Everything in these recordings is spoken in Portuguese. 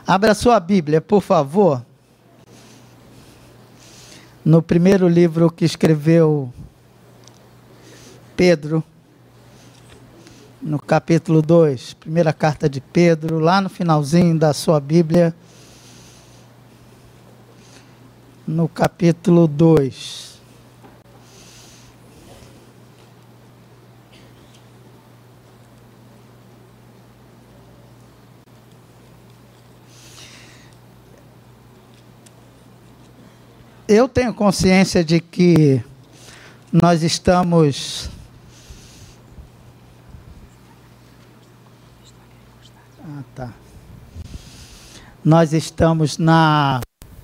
Abra sua Bíblia, por favor, no primeiro livro que escreveu Pedro, no capítulo 2, primeira carta de Pedro, lá no finalzinho da sua Bíblia, no capítulo 2. Eu tenho consciência de que nós estamos nós estamos na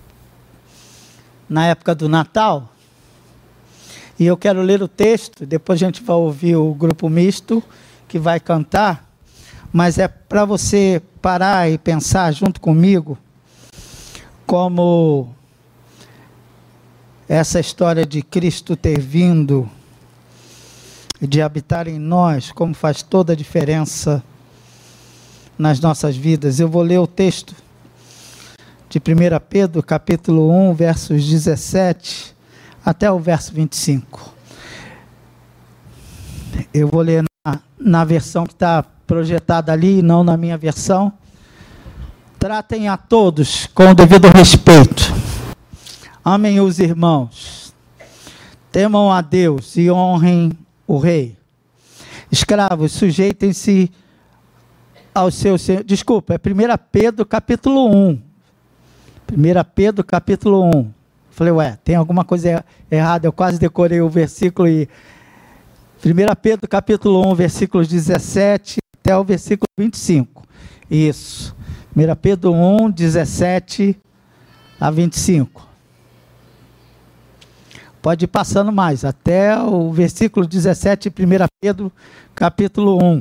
época do Natal, e eu quero ler o texto, depois a gente vai ouvir o grupo misto que vai cantar, mas é para você parar e pensar junto comigo como essa história de Cristo ter vindo, de habitar em nós, como faz toda a diferença nas nossas vidas. Eu vou ler o texto de 1 Pedro, capítulo 1, versos 17 até o verso 25. Eu vou ler na versão que está projetada ali, e não na minha versão. Tratem a todos com o devido respeito. Amem os irmãos, temam a Deus e honrem o rei. Escravos, sujeitem-se aos seus... Desculpa, é 1 Pedro capítulo 1. 1 Pedro capítulo 1. Falei, tem alguma coisa errada, eu quase decorei o versículo. 1 Pedro capítulo 1, versículos 17 até o versículo 25. Isso. 1 Pedro 1, 17 a 25. Pode ir passando mais, até o versículo 17, 1 Pedro, capítulo 1.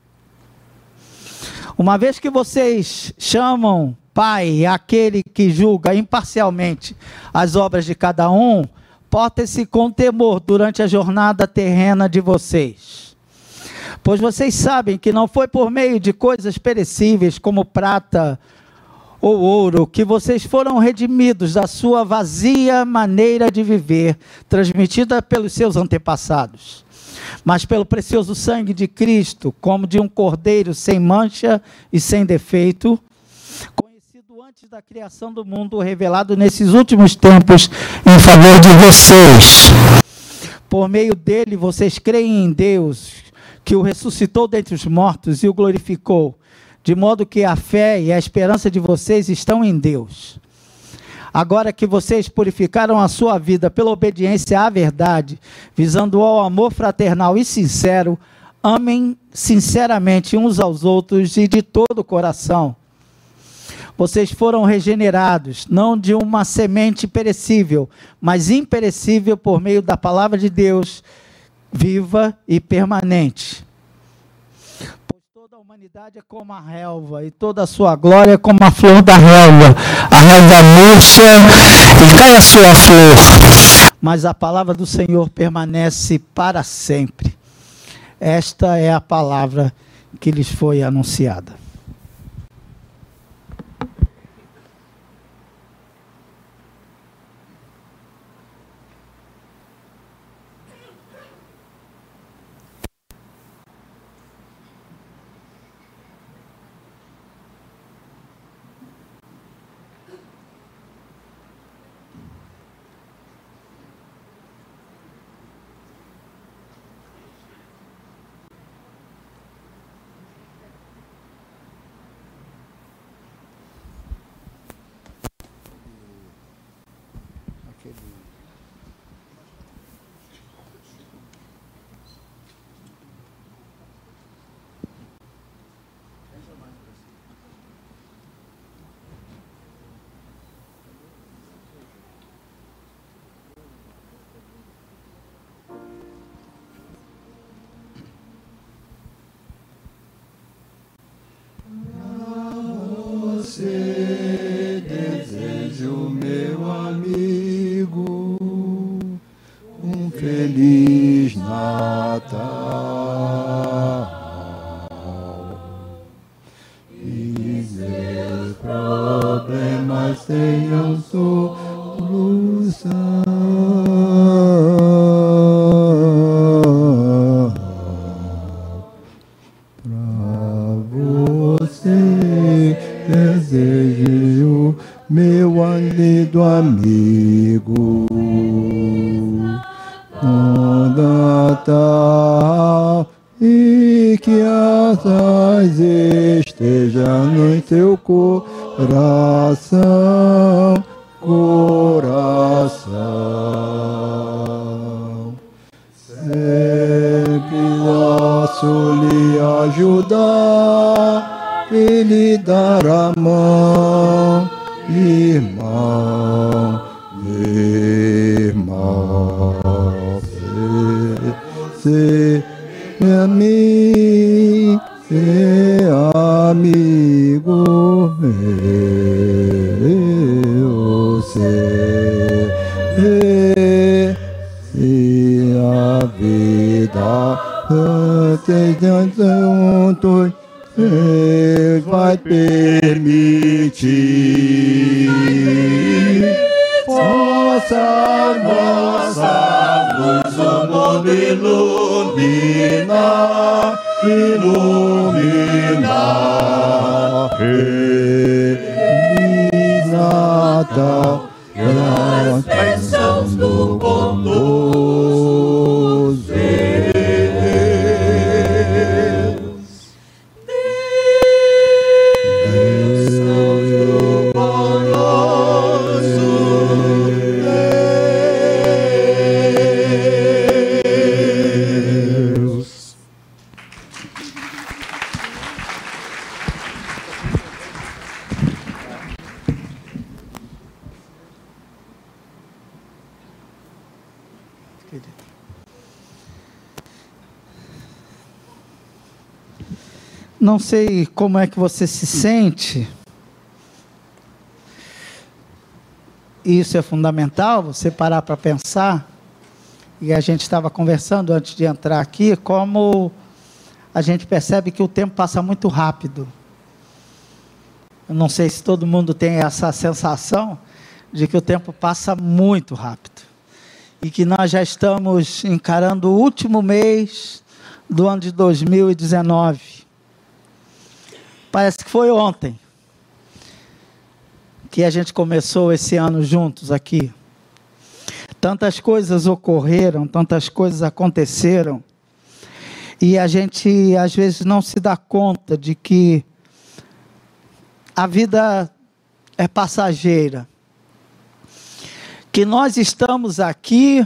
Uma vez que vocês chamam Pai aquele que julga imparcialmente as obras de cada um, portem-se com temor durante a jornada terrena de vocês. Pois vocês sabem que não foi por meio de coisas perecíveis como prata ou ouro, que vocês foram redimidos da sua vazia maneira de viver, transmitida pelos seus antepassados, mas pelo precioso sangue de Cristo, como de um cordeiro sem mancha e sem defeito, conhecido antes da criação do mundo, revelado nesses últimos tempos em favor de vocês. Por meio dele, vocês creem em Deus, que o ressuscitou dentre os mortos e o glorificou, de modo que a fé e a esperança de vocês estão em Deus. Agora que vocês purificaram a sua vida pela obediência à verdade, visando ao amor fraternal e sincero, amem sinceramente uns aos outros e de todo o coração. Vocês foram regenerados, não de uma semente perecível, mas imperecível por meio da palavra de Deus, viva e permanente. A humanidade é como a relva, e toda a sua glória é como a flor da relva. A relva murcha e cai a sua flor, mas a palavra do Senhor permanece para sempre. Esta é a palavra que lhes foi anunciada. Você desejo, meu amigo, um feliz Natal e Deus problemas tenham solução. Pra você desejo, meu amigo, Natal, e que a paz esteja no teu coração, Sempre posso lhe ajudar e lhe dar a mão, irmão, se a mim, amigo meu, e a vida juntos vai permitir. Possa nossa luz o mundo iluminar. Feliz Natal, as bênçãos do bondoso Não sei como é que você se sente. Isso é fundamental, você parar para pensar. E a gente estava conversando antes de entrar aqui, como a gente percebe que o tempo passa muito rápido. Eu não sei se todo mundo tem essa sensação de que o tempo passa muito rápido. E que nós já estamos encarando o último mês do ano de 2019. Parece que foi ontem que a gente começou esse ano juntos aqui. Tantas coisas ocorreram, tantas coisas aconteceram, e a gente às vezes não se dá conta de que a vida é passageira, que nós estamos aqui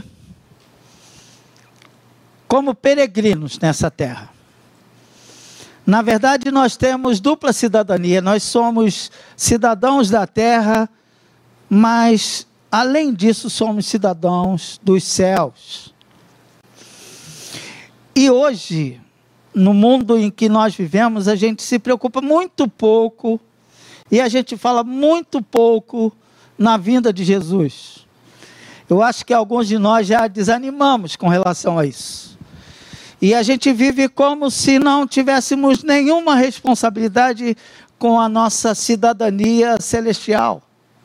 como peregrinos nessa terra. Na verdade, nós temos dupla cidadania, nós somos cidadãos da terra, mas, além disso, somos cidadãos dos céus. E hoje, no mundo em que nós vivemos, a gente se preocupa muito pouco, e a gente fala muito pouco na vinda de Jesus. Eu acho que alguns de nós já desanimamos com relação a isso. E a gente vive como se não tivéssemos nenhuma responsabilidade com a nossa cidadania celestial.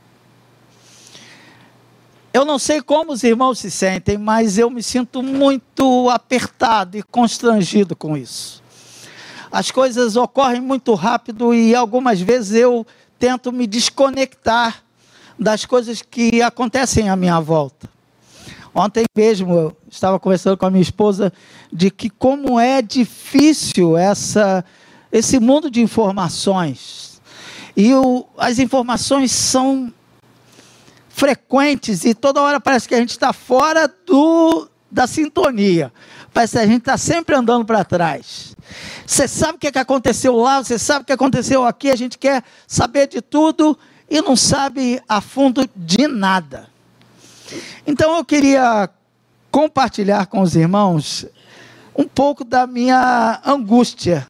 Eu não sei como os irmãos se sentem, mas eu me sinto muito apertado e constrangido com isso. As coisas ocorrem muito rápido e algumas vezes eu tento me desconectar das coisas que acontecem à minha volta. Ontem mesmo eu estava conversando com a minha esposa de que como é difícil esse mundo de informações. E as informações são frequentes e toda hora parece que a gente está fora da sintonia. Parece que a gente está sempre andando para trás. Você sabe o que aconteceu lá, você sabe o que aconteceu aqui, a gente quer saber de tudo e não sabe a fundo de nada. Então eu queria compartilhar com os irmãos um pouco da minha angústia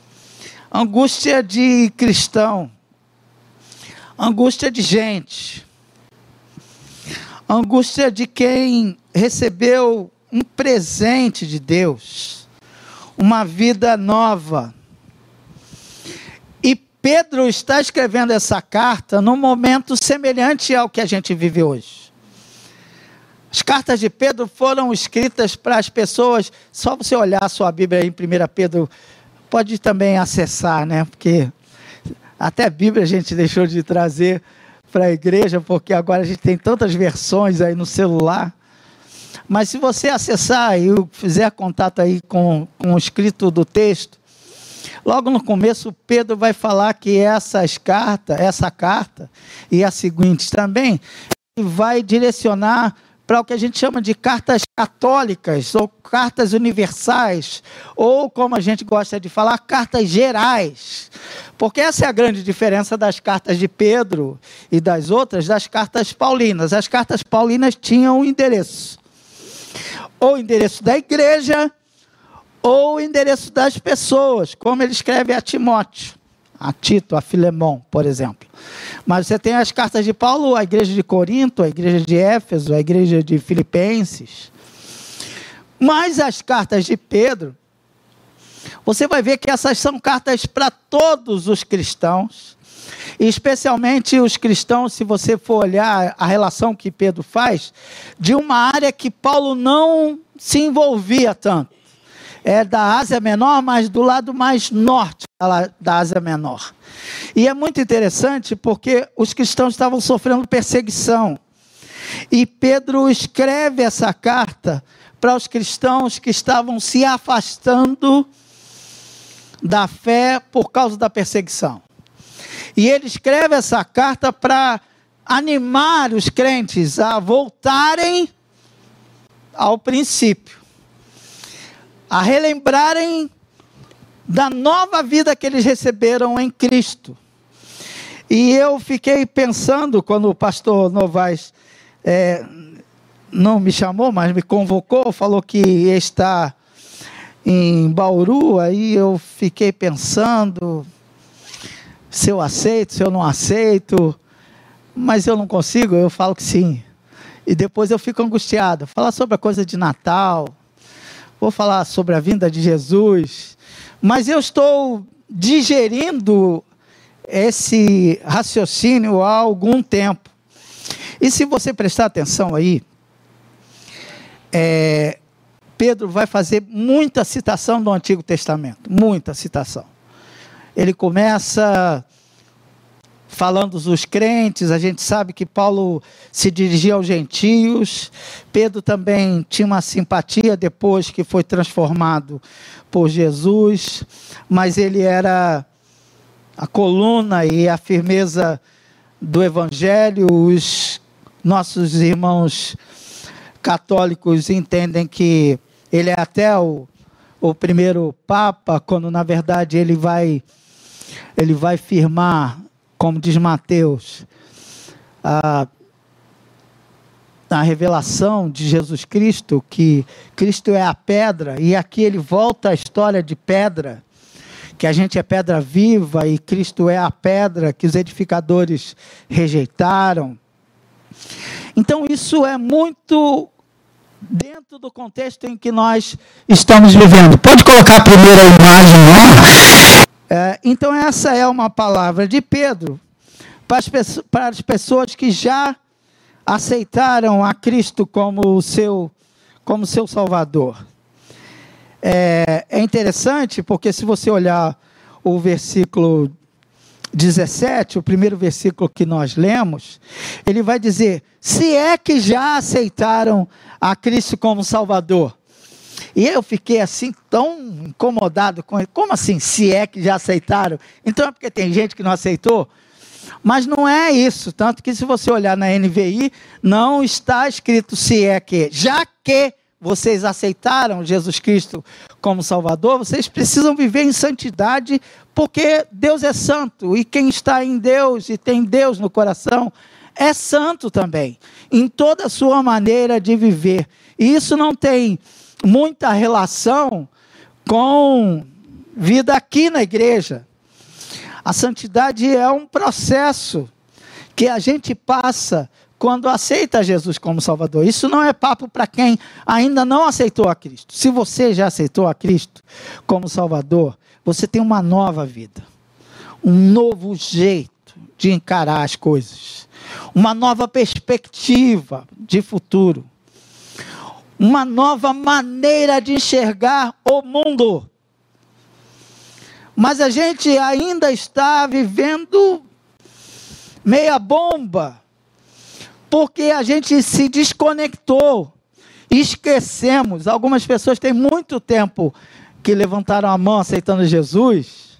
de cristão, angústia de gente, angústia de quem recebeu um presente de Deus, uma vida nova, e Pedro está escrevendo essa carta num momento semelhante ao que a gente vive hoje. As cartas de Pedro foram escritas para as pessoas, só você olhar a sua Bíblia aí em 1 Pedro, pode também acessar, né? Porque até a Bíblia a gente deixou de trazer para a igreja, porque agora a gente tem tantas versões aí no celular. Mas se você acessar e fizer contato aí com o escrito do texto, logo no começo Pedro vai falar que essa carta e as seguintes também, vai direcionar para o que a gente chama de cartas católicas, ou cartas universais, ou como a gente gosta de falar, cartas gerais. Porque essa é a grande diferença das cartas de Pedro e das outras, das cartas paulinas. As cartas paulinas tinham um endereço. Ou o endereço da igreja, ou o endereço das pessoas, como ele escreve a Timóteo, a Tito, a Filemon, por exemplo. Mas você tem as cartas de Paulo, a igreja de Corinto, a igreja de Éfeso, a igreja de Filipenses. Mas as cartas de Pedro, você vai ver que essas são cartas para todos os cristãos, e especialmente os cristãos, se você for olhar a relação que Pedro faz, de uma área que Paulo não se envolvia tanto. É da Ásia Menor, mas do lado mais norte da Ásia Menor. E é muito interessante porque os cristãos estavam sofrendo perseguição. E Pedro escreve essa carta para os cristãos que estavam se afastando da fé por causa da perseguição. E ele escreve essa carta para animar os crentes a voltarem ao princípio, a relembrarem da nova vida que eles receberam em Cristo. E eu fiquei pensando, quando o pastor Novaes não me chamou, mas me convocou, falou que ia estar em Bauru, aí eu fiquei pensando se eu aceito, se eu não aceito, mas eu não consigo, eu falo que sim. E depois eu fico angustiado, falar sobre a coisa de Natal, vou falar sobre a vinda de Jesus, mas eu estou digerindo esse raciocínio há algum tempo. E se você prestar atenção aí, Pedro vai fazer muita citação do Antigo Testamento, muita citação. Ele começa falando dos crentes, a gente sabe que Paulo se dirigia aos gentios, Pedro também tinha uma simpatia depois que foi transformado por Jesus, mas ele era a coluna e a firmeza do Evangelho. Os nossos irmãos católicos entendem que ele é até o primeiro Papa, quando na verdade ele vai firmar, como diz Mateus, a revelação de Jesus Cristo, que Cristo é a pedra, e aqui ele volta à história de pedra, que a gente é pedra viva, e Cristo é a pedra que os edificadores rejeitaram. Então isso é muito dentro do contexto em que nós estamos vivendo. Pode colocar a primeira imagem lá? Então essa é uma palavra de Pedro para as pessoas que já aceitaram a Cristo como seu Salvador. É interessante porque se você olhar o versículo 17, o primeiro versículo que nós lemos, ele vai dizer, se é que já aceitaram a Cristo como Salvador. E eu fiquei assim tão incomodado com ele. Como assim, se é que já aceitaram? Então é porque tem gente que não aceitou? Mas não é isso, tanto que se você olhar na NVI, não está escrito se é que. Já que vocês aceitaram Jesus Cristo como Salvador, vocês precisam viver em santidade, porque Deus é santo, e quem está em Deus e tem Deus no coração, é santo também, em toda a sua maneira de viver. E isso não tem muita relação com vida aqui na igreja. A santidade é um processo que a gente passa quando aceita Jesus como Salvador. Isso não é papo para quem ainda não aceitou a Cristo. Se você já aceitou a Cristo como Salvador, você tem uma nova vida. um novo jeito de encarar as coisas, uma nova perspectiva de futuro, uma nova maneira de enxergar o mundo. Mas a gente ainda está vivendo meia bomba, porque a gente se desconectou, esquecemos. Algumas pessoas têm muito tempo que levantaram a mão aceitando Jesus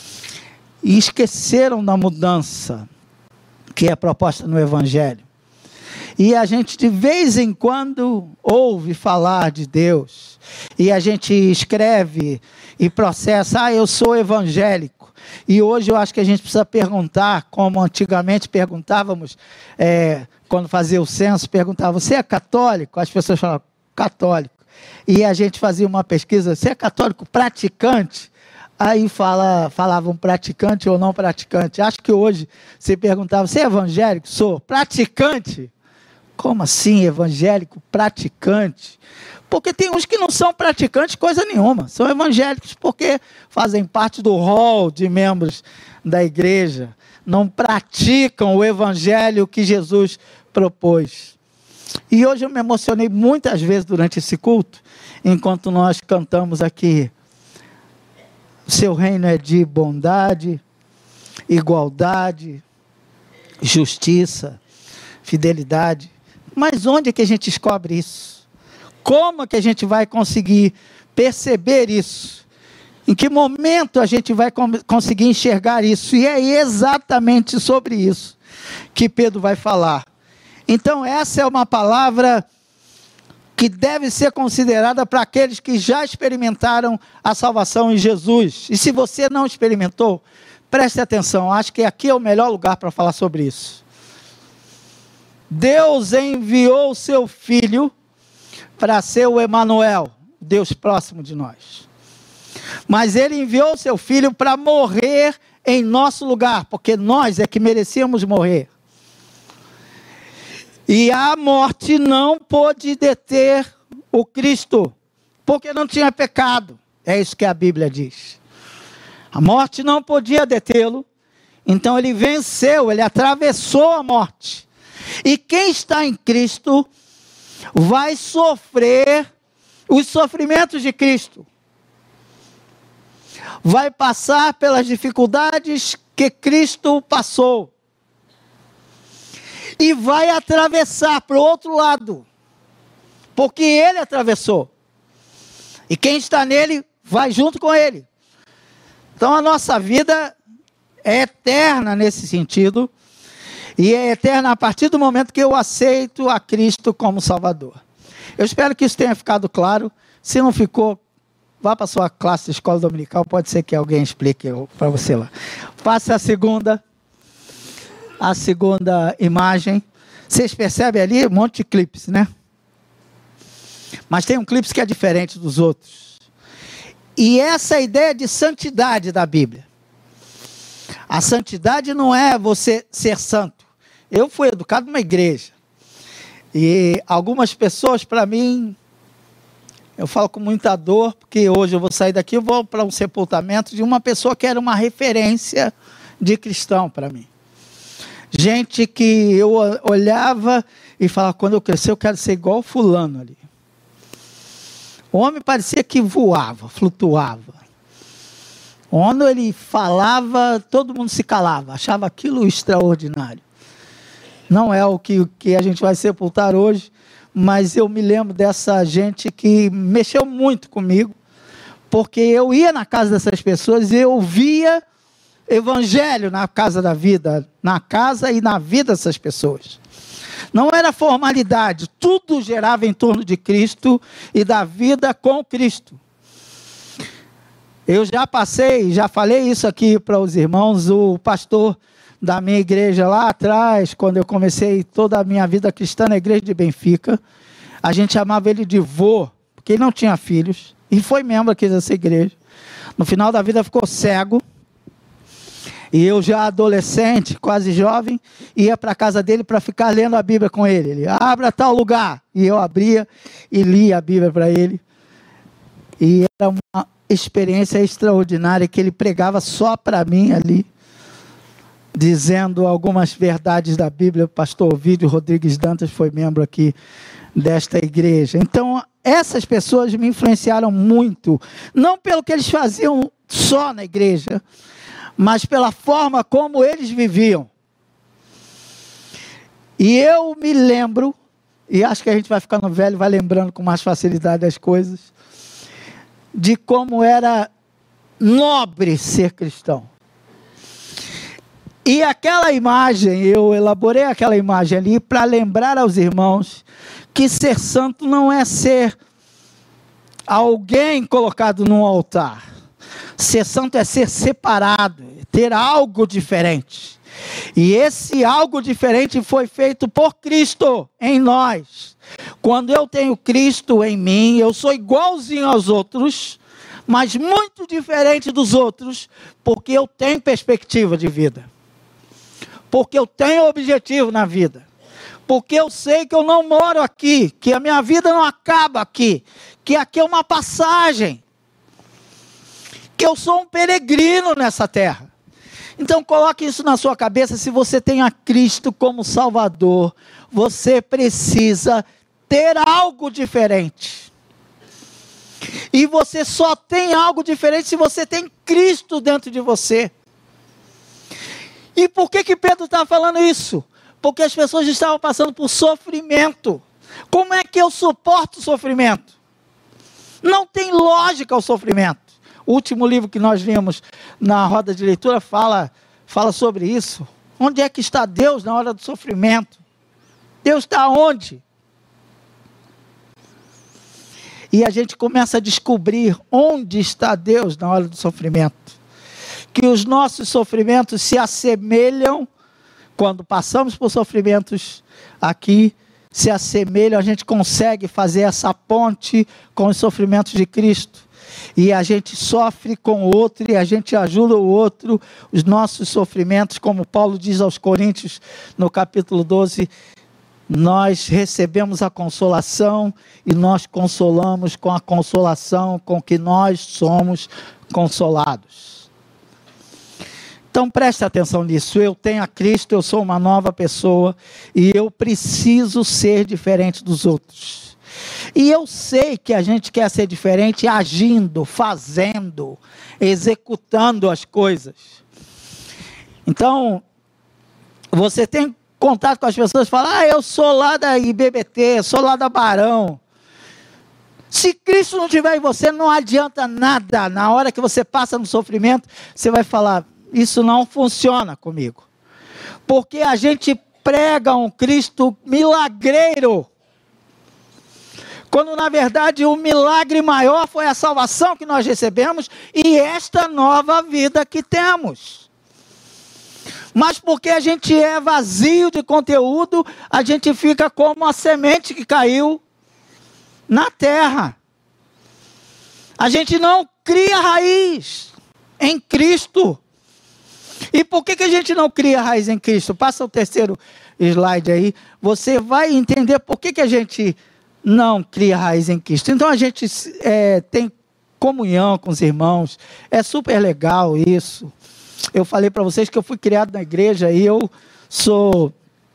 e esqueceram da mudança que é proposta no Evangelho. E a gente de vez em quando ouve falar de Deus, e a gente escreve e processa, eu sou evangélico. E hoje eu acho que a gente precisa perguntar, como antigamente perguntávamos, quando fazia o censo, perguntava, você é católico? As pessoas falavam, católico. E a gente fazia uma pesquisa, você é católico praticante? Aí falavam praticante ou não praticante. Acho que hoje se perguntava, você é evangélico? Sou. Praticante? Como assim evangélico praticante? Porque tem uns que não são praticantes coisa nenhuma. São evangélicos porque fazem parte do rol de membros da igreja. Não praticam o evangelho que Jesus propôs. E hoje eu me emocionei muitas vezes durante esse culto, enquanto nós cantamos aqui. O seu reino é de bondade, igualdade, justiça, fidelidade. Mas onde é que a gente descobre isso? Como é que a gente vai conseguir perceber isso? Em que momento a gente vai conseguir enxergar isso? E é exatamente sobre isso que Pedro vai falar. Então essa é uma palavra que deve ser considerada para aqueles que já experimentaram a salvação em Jesus. E se você não experimentou, preste atenção, acho que aqui é o melhor lugar para falar sobre isso. Deus enviou o seu Filho para ser o Emanuel, Deus próximo de nós. Mas Ele enviou o seu Filho para morrer em nosso lugar, porque nós é que merecíamos morrer. E a morte não pôde deter o Cristo, porque não tinha pecado. É isso que a Bíblia diz. A morte não podia detê-lo, então ele venceu, ele atravessou a morte. E quem está em Cristo vai sofrer os sofrimentos de Cristo. Vai passar pelas dificuldades que Cristo passou. E vai atravessar para o outro lado, porque Ele atravessou. E quem está nele, vai junto com Ele. Então a nossa vida é eterna nesse sentido, e é eterna a partir do momento que eu aceito a Cristo como Salvador. Eu espero que isso tenha ficado claro. Se não ficou, vá para a sua classe de escola dominical, pode ser que alguém explique para você lá. Passe a segunda imagem. Vocês percebem ali um monte de clipes, né? Mas tem um clipe que é diferente dos outros. E essa é a ideia de santidade da Bíblia. A santidade não é você ser santo. Eu fui educado numa igreja. E algumas pessoas, para mim, eu falo com muita dor, porque hoje eu vou sair daqui e vou para um sepultamento de uma pessoa que era uma referência de cristão para mim. Gente que eu olhava e falava, quando eu crescer eu quero ser igual o fulano ali. O homem parecia que voava, flutuava. Quando ele falava, todo mundo se calava, achava aquilo extraordinário. Não é o que a gente vai sepultar hoje, mas eu me lembro dessa gente que mexeu muito comigo, porque eu ia na casa dessas pessoas e eu via evangelho na casa da vida, na casa e na vida dessas pessoas. Não era formalidade, tudo gerava em torno de Cristo e da vida com Cristo. Eu já falei isso aqui para os irmãos, o pastor da minha igreja lá atrás, quando eu comecei toda a minha vida cristã na igreja de Benfica, a gente chamava ele de vô, porque ele não tinha filhos, e foi membro aqui dessa igreja. No final da vida ficou cego, e eu já adolescente, quase jovem, ia para a casa dele para ficar lendo a Bíblia com ele. Ele, abra tal lugar, e eu abria e lia a Bíblia para ele, e era uma experiência extraordinária, que ele pregava só para mim ali, dizendo algumas verdades da Bíblia. O pastor Ovídio Rodrigues Dantas foi membro aqui desta igreja. Então, essas pessoas me influenciaram muito, não pelo que eles faziam só na igreja, mas pela forma como eles viviam. E eu me lembro, e acho que a gente vai ficando velho, vai lembrando com mais facilidade as coisas, de como era nobre ser cristão. E aquela imagem, eu elaborei aquela imagem ali para lembrar aos irmãos que ser santo não é ser alguém colocado num altar. Ser santo é ser separado, é ter algo diferente. E esse algo diferente foi feito por Cristo em nós. Quando eu tenho Cristo em mim, eu sou igualzinho aos outros, mas muito diferente dos outros, porque eu tenho perspectiva de vida. Porque eu tenho objetivo na vida. Porque eu sei que eu não moro aqui, que a minha vida não acaba aqui, que aqui é uma passagem, que eu sou um peregrino nessa terra. Então coloque isso na sua cabeça. Se você tem a Cristo como Salvador, você precisa ter algo diferente. E você só tem algo diferente se você tem Cristo dentro de você. E por que Pedro está falando isso? Porque as pessoas estavam passando por sofrimento. Como é que eu suporto o sofrimento? Não tem lógica o sofrimento. O último livro que nós vimos na roda de leitura fala sobre isso. Onde é que está Deus na hora do sofrimento? Deus está onde? E a gente começa a descobrir onde está Deus na hora do sofrimento. Que os nossos sofrimentos se assemelham, quando passamos por sofrimentos aqui, se assemelham, a gente consegue fazer essa ponte com os sofrimentos de Cristo. E a gente sofre com o outro e a gente ajuda o outro. Os nossos sofrimentos, como Paulo diz aos Coríntios no capítulo 12, nós recebemos a consolação e nós consolamos com a consolação com que nós somos consolados. Então preste atenção nisso. Eu tenho a Cristo, eu sou uma nova pessoa e eu preciso ser diferente dos outros. E eu sei que a gente quer ser diferente agindo, fazendo, executando as coisas. Então, você tem contato com as pessoas e fala: eu sou lá da IBBT, sou lá da Barão. Se Cristo não estiver em você, não adianta nada. Na hora que você passa no sofrimento, você vai falar: isso não funciona comigo. Porque a gente prega um Cristo milagreiro. Quando na verdade o milagre maior foi a salvação que nós recebemos e esta nova vida que temos. Mas porque a gente é vazio de conteúdo, a gente fica como a semente que caiu na terra. A gente não cria raiz em Cristo. E por que a gente não cria raiz em Cristo? Passa o terceiro slide aí. Você vai entender por que a gente não cria raiz em Cristo. Então a gente tem comunhão com os irmãos. É super legal isso. Eu falei para vocês que eu fui criado na igreja e eu sou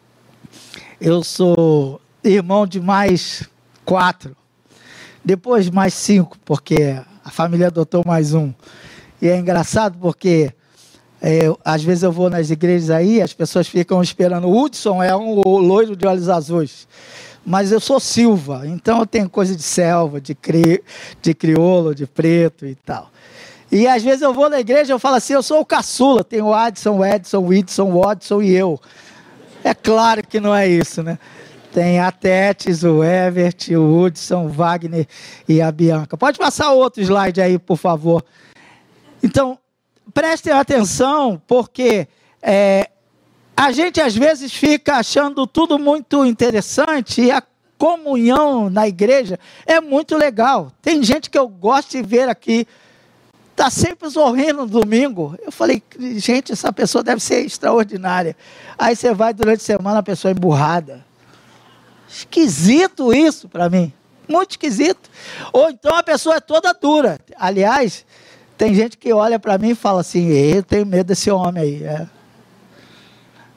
irmão de mais 4. Depois mais 5, porque a família adotou mais um. E é engraçado porque às vezes eu vou nas igrejas aí, as pessoas ficam esperando. O Hudson é um loiro de olhos azuis, mas eu sou Silva, então eu tenho coisa de selva, de crioulo, de preto e tal. E às vezes eu vou na igreja e eu falo assim: eu sou o caçula, tem o Adson, o Edson, o Whitson, o Watson e eu. É claro que não é isso, né? Tem a Tetes, o Evert, o Hudson, o Wagner e a Bianca. Pode passar outro slide aí, por favor. Então, prestem atenção, porque a gente às vezes fica achando tudo muito interessante e a comunhão na igreja é muito legal. Tem gente que eu gosto de ver aqui, está sempre sorrindo no domingo. Eu falei: gente, essa pessoa deve ser extraordinária. Aí você vai durante a semana, a pessoa é emburrada. Esquisito isso para mim, muito esquisito. Ou então a pessoa é toda dura. Aliás, tem gente que olha para mim e fala assim: eu tenho medo desse homem aí.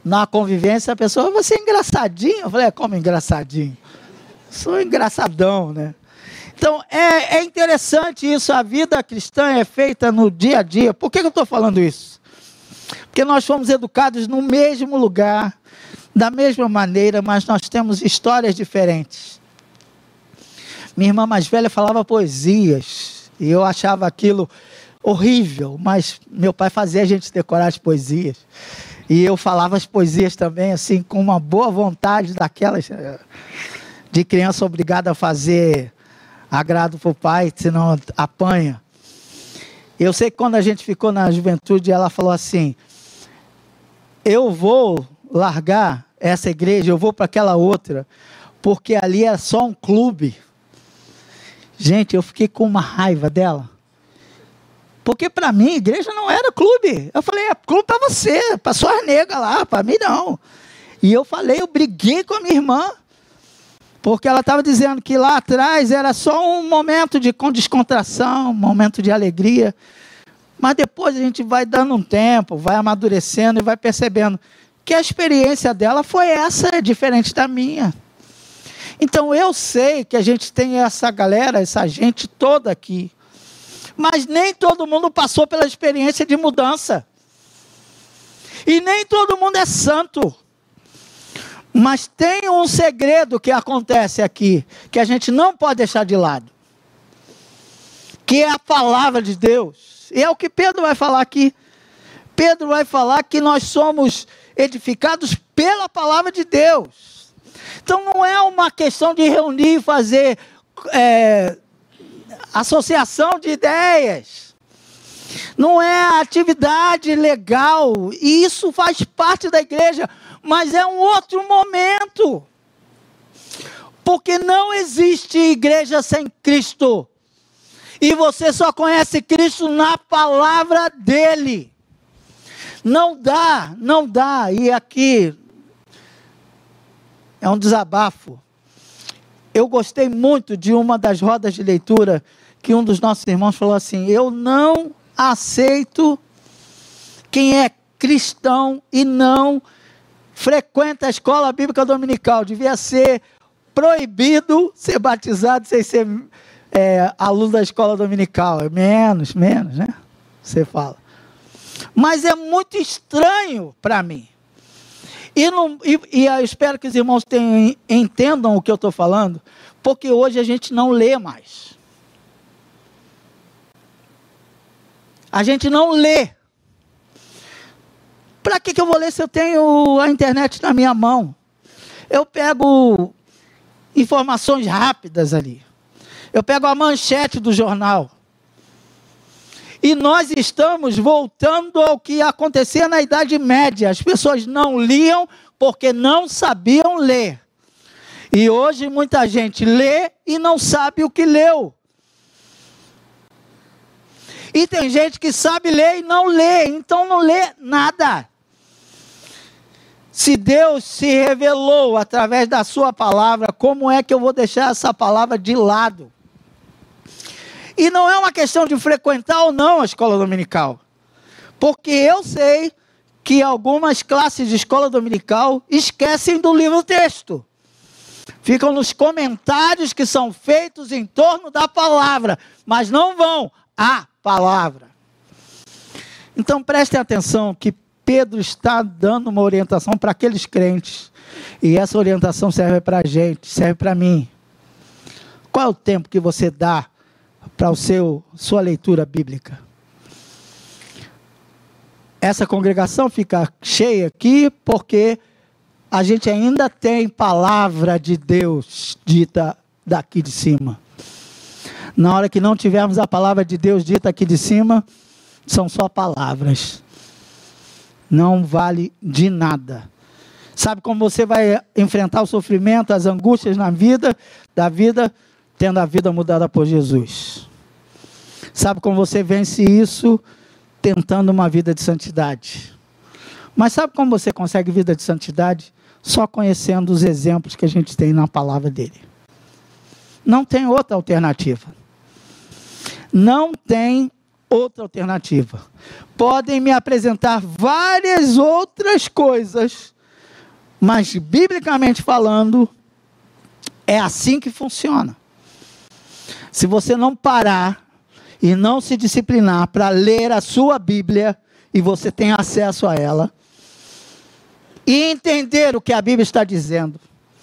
Na convivência, a pessoa, você é engraçadinho. Eu falei, como engraçadinho? Sou engraçadão, né? Então, é interessante isso. A vida cristã é feita no dia a dia. Por que eu estou falando isso? Porque nós fomos educados no mesmo lugar, da mesma maneira, mas nós temos histórias diferentes. Minha irmã mais velha falava poesias, e eu achava aquilo horrível, mas meu pai fazia a gente decorar as poesias. E eu falava as poesias também, assim, com uma boa vontade daquelas de criança obrigada a fazer agrado para o pai, senão apanha. Eu sei que quando a gente ficou na juventude, ela falou assim, eu vou largar essa igreja, eu vou para aquela outra, porque ali é só um clube. Gente, eu fiquei com uma raiva dela. Porque para mim, igreja não era clube. Eu falei, é clube para você, para suas negas lá, para mim não. E eu falei, eu briguei com a minha irmã, porque ela estava dizendo que lá atrás era só um momento com descontração, um momento de alegria. Mas depois a gente vai dando um tempo, vai amadurecendo e vai percebendo que a experiência dela foi essa, diferente da minha. Então eu sei que a gente tem essa galera, essa gente toda aqui. Mas nem todo mundo passou pela experiência de mudança. E nem todo mundo é santo. Mas tem um segredo que acontece aqui, que a gente não pode deixar de lado. Que é a palavra de Deus. E é o que Pedro vai falar aqui. Pedro vai falar que nós somos edificados pela palavra de Deus. Então não é uma questão de reunir e fazer associação de ideias. Não é atividade legal. E isso faz parte da igreja. Mas é um outro momento. Porque não existe igreja sem Cristo. E você só conhece Cristo na palavra dele. Não dá, não dá. E aqui é um desabafo. Eu gostei muito de uma das rodas de leitura que um dos nossos irmãos falou assim, eu não aceito quem é cristão e não frequenta a escola bíblica dominical. Devia ser proibido ser batizado sem ser aluno da escola dominical. Menos, né? Você fala. Mas é muito estranho para mim. E eu espero que os irmãos entendam o que eu estou falando, porque hoje a gente não lê mais. A gente não lê. Para que eu vou ler se eu tenho a internet na minha mão? Eu pego informações rápidas ali. Eu pego a manchete do jornal. E nós estamos voltando ao que acontecia na Idade Média. As pessoas não liam porque não sabiam ler. E hoje muita gente lê e não sabe o que leu. E tem gente que sabe ler e não lê, então não lê nada. Se Deus se revelou através da sua palavra, como é que eu vou deixar essa palavra de lado? E não é uma questão de frequentar ou não a escola dominical. Porque eu sei que algumas classes de escola dominical esquecem do livro-texto. Ficam nos comentários que são feitos em torno da palavra, mas não vão à palavra. Então prestem atenção que Pedro está dando uma orientação para aqueles crentes. E essa orientação serve para a gente, serve para mim. Qual é o tempo que você dá para sua leitura bíblica? Essa congregação fica cheia aqui porque a gente ainda tem palavra de Deus dita daqui de cima. Na hora que não tivermos a palavra de Deus dita aqui de cima, são só palavras. Não vale de nada. Sabe como você vai enfrentar o sofrimento, as angústias da vida, tendo a vida mudada por Jesus? Sabe como você vence isso? Tentando uma vida de santidade. Mas sabe como você consegue vida de santidade? Só conhecendo os exemplos que a gente tem na palavra dele. Não tem outra alternativa. Não tem outra alternativa. Podem me apresentar várias outras coisas Mas, biblicamente falando, é assim que funciona. Se você não parar e não se disciplinar para ler a sua Bíblia, e você tem acesso a ela, e entender o que a Bíblia está dizendo,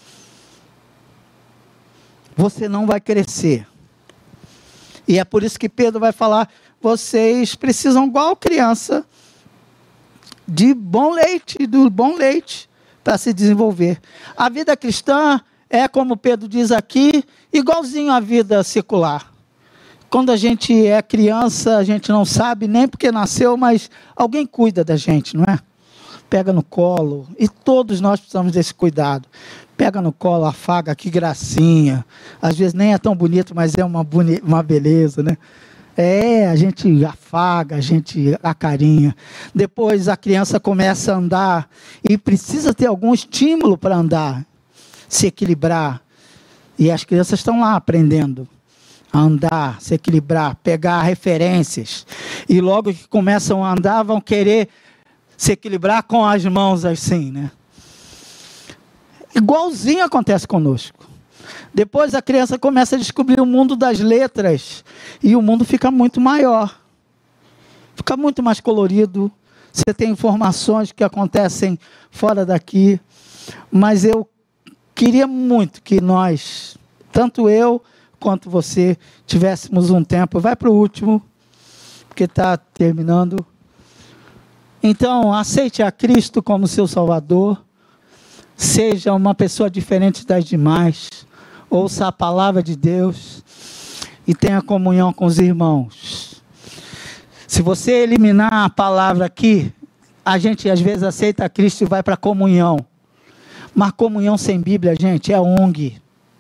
você não vai crescer. E é por isso que Pedro vai falar, vocês precisam, igual criança, de bom leite, do bom leite, para se desenvolver. A vida cristã é, como Pedro diz aqui, igualzinho à vida secular. Quando a gente é criança, a gente não sabe nem porque nasceu, mas alguém cuida da gente, não é? Pega no colo, e todos nós precisamos desse cuidado. Pega no colo, afaga, que gracinha. Às vezes nem é tão bonito, mas é uma beleza, né? A gente afaga, a gente acarinha. Depois a criança começa a andar e precisa ter algum estímulo para andar, se equilibrar. E as crianças estão lá aprendendo a andar, se equilibrar, pegar referências. E logo que começam a andar, vão querer se equilibrar com as mãos assim, né? Igualzinho acontece conosco. Depois a criança começa a descobrir o mundo das letras e o mundo fica muito maior. Fica muito mais colorido. Você tem informações que acontecem fora daqui. Mas eu queria muito que nós, tanto eu quanto você, tivéssemos um tempo. Vai para o último, porque está terminando. Então, aceite a Cristo como seu Salvador. Seja uma pessoa diferente das demais. Ouça a palavra de Deus e tenha comunhão com os irmãos. Se você eliminar a palavra aqui, a gente às vezes aceita a Cristo e vai para a comunhão. Mas comunhão sem Bíblia, gente, é ONG.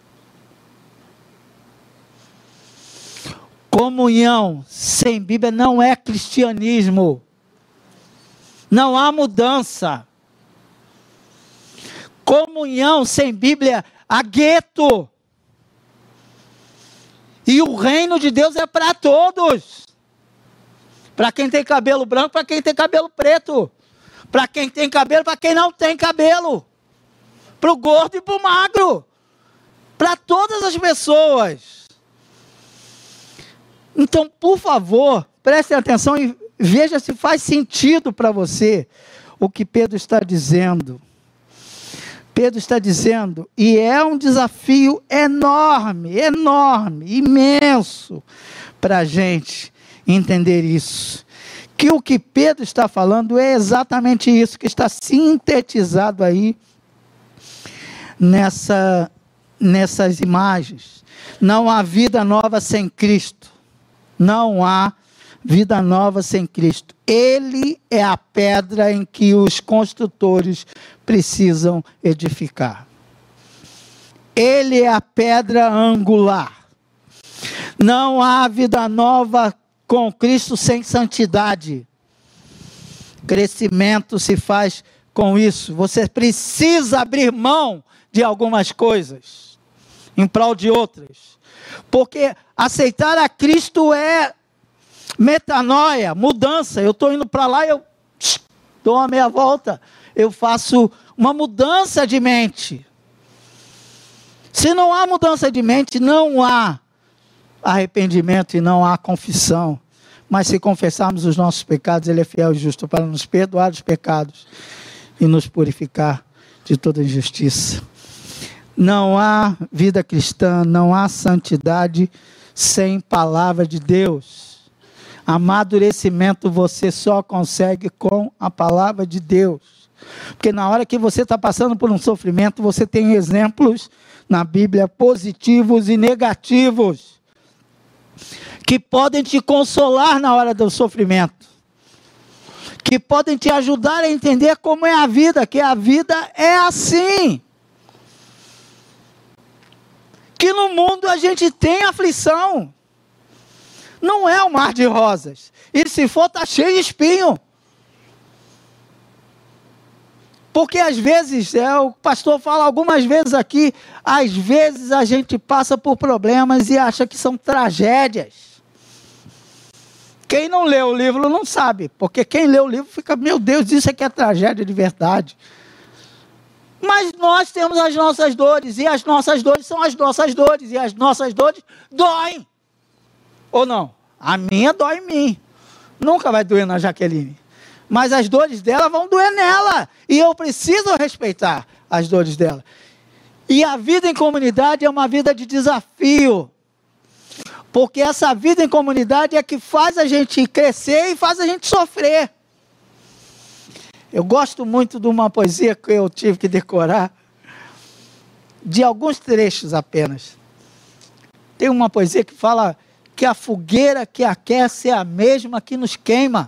Comunhão sem Bíblia não é cristianismo. Não há mudança. Comunhão sem Bíblia, há gueto. E o reino de Deus é para todos. Para quem tem cabelo branco, para quem tem cabelo preto. Para quem tem cabelo, para quem não tem cabelo. Para o gordo e para o magro. Para todas as pessoas. Então, por favor, prestem atenção e veja se faz sentido para você o que Pedro está dizendo. Pedro está dizendo, e é um desafio enorme, imenso, para a gente entender isso. Que o que Pedro está falando é exatamente isso, que está sintetizado aí nessas imagens. Não há vida nova sem Cristo. Não há vida nova sem Cristo. Ele é a pedra em que os construtores precisam edificar. Ele é a pedra angular. Não há vida nova com Cristo sem santidade. Crescimento se faz com isso. Você precisa abrir mão de algumas coisas em prol de outras. Porque aceitar a Cristo é metanoia, mudança. Eu estou indo para lá, eu dou uma meia volta, eu faço uma mudança de mente. Se não há mudança de mente, não há arrependimento e não há confissão. Mas se confessarmos os nossos pecados, Ele é fiel e justo para nos perdoar os pecados e nos purificar de toda injustiça. Não há vida cristã, não há santidade sem palavra de Deus. Amadurecimento você só consegue com a palavra de Deus. Porque na hora que você está passando por um sofrimento, você tem exemplos na Bíblia positivos e negativos, que podem te consolar na hora do sofrimento, que podem te ajudar a entender como é a vida, que a vida é assim. Que no mundo a gente tem aflição. Não é um mar de rosas. E se for, está cheio de espinho. Porque às vezes, o pastor fala algumas vezes aqui, às vezes a gente passa por problemas e acha que são tragédias. Quem não lê o livro não sabe. Porque quem lê o livro fica, meu Deus, isso aqui é tragédia de verdade. Mas nós temos as nossas dores, e as nossas dores são as nossas dores, e as nossas dores doem. Ou não? A minha dói em mim. Nunca vai doer na Jaqueline. Mas as dores dela vão doer nela. E eu preciso respeitar as dores dela. E a vida em comunidade é uma vida de desafio. Porque essa vida em comunidade é que faz a gente crescer e faz a gente sofrer. Eu gosto muito de uma poesia que eu tive que decorar, de alguns trechos apenas. Tem uma poesia que fala que a fogueira que aquece é a mesma que nos queima.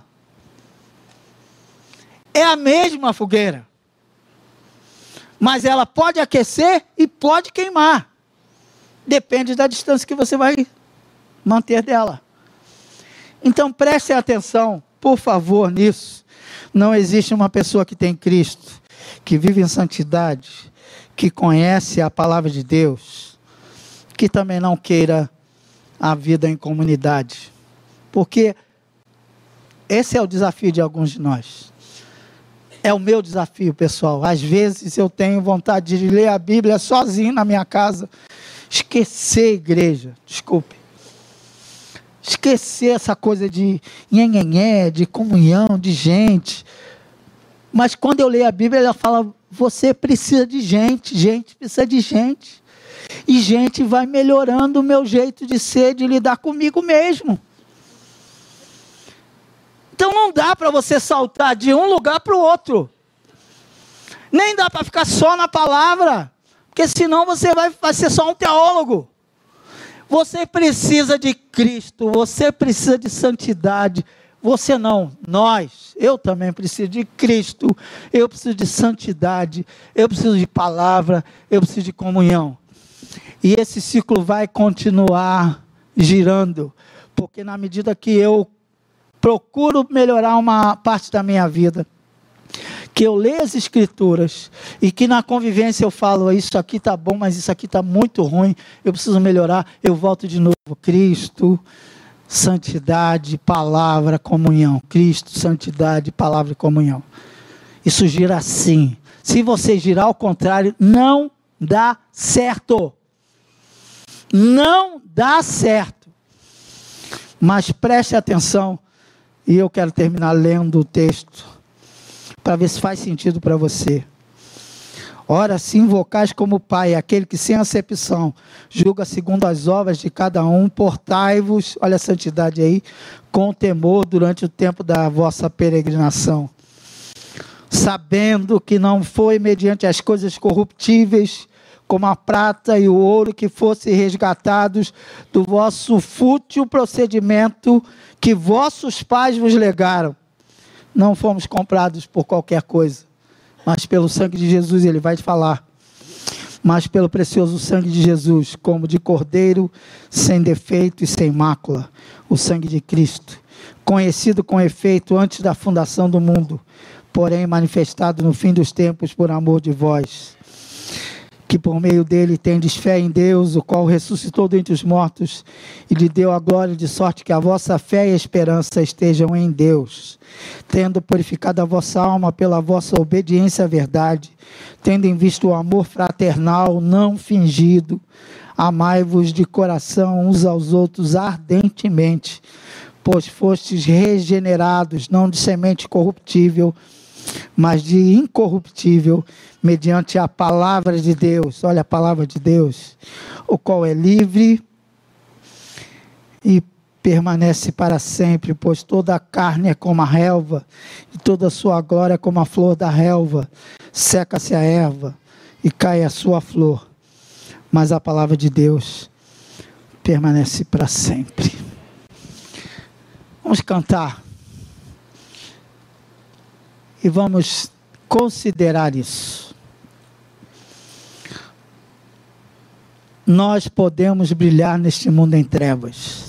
É a mesma fogueira. Mas ela pode aquecer e pode queimar. Depende da distância que você vai manter dela. Então preste atenção, por favor, nisso. Não existe uma pessoa que tem Cristo, que vive em santidade, que conhece a palavra de Deus, que também não queira a vida em comunidade. Porque esse é o desafio de alguns de nós. É o meu desafio, pessoal. Às vezes eu tenho vontade de ler a Bíblia sozinho na minha casa. Esquecer a igreja, desculpe. Esquecer essa coisa de nhenhenhé, de comunhão, de gente. Mas quando eu leio a Bíblia, ela fala, você precisa de gente, gente precisa de gente. E gente vai melhorando o meu jeito de ser, de lidar comigo mesmo. Então não dá para você saltar de um lugar para o outro. Nem dá para ficar só na palavra. Porque senão você vai ser só um teólogo. Você precisa de Cristo, você precisa de santidade. Você não, nós, eu também preciso de Cristo, eu preciso de santidade, eu preciso de palavra, eu preciso de comunhão. E esse ciclo vai continuar girando, porque na medida que eu procuro melhorar uma parte da minha vida, que eu leio as escrituras, e que na convivência eu falo, isso aqui está bom, mas isso aqui está muito ruim, eu preciso melhorar, eu volto de novo, Cristo, santidade, palavra, comunhão. Cristo, santidade, palavra e comunhão. Isso gira assim. Se você girar ao contrário, não dá certo. Não dá certo. Mas preste atenção, e eu quero terminar lendo o texto, para ver se faz sentido para você. Ora, se invocais como Pai, aquele que sem acepção julga segundo as obras de cada um, portai-vos, olha a santidade aí, com temor durante o tempo da vossa peregrinação, sabendo que não foi mediante as coisas corruptíveis, como a prata e o ouro, que fossem resgatados do vosso fútil procedimento que vossos pais vos legaram. Não fomos comprados por qualquer coisa, mas pelo sangue de Jesus. Ele vai falar, mas pelo precioso sangue de Jesus, como de cordeiro, sem defeito e sem mácula, o sangue de Cristo, conhecido com efeito antes da fundação do mundo, porém manifestado no fim dos tempos por amor de vós, que por meio dele tendes fé em Deus, o qual ressuscitou dentre os mortos e lhe deu a glória, de sorte que a vossa fé e a esperança estejam em Deus, tendo purificado a vossa alma pela vossa obediência à verdade, tendo em vista o amor fraternal não fingido, amai-vos de coração uns aos outros ardentemente, pois fostes regenerados, não de semente corruptível, mas de incorruptível, mediante a palavra de Deus. Olha a palavra de Deus, o qual é livre e permanece para sempre, pois toda a carne é como a relva, e toda a sua glória é como a flor da relva. Seca-se a erva e cai a sua flor, mas a palavra de Deus permanece para sempre. Vamos cantar e vamos considerar isso. Nós podemos brilhar neste mundo em trevas.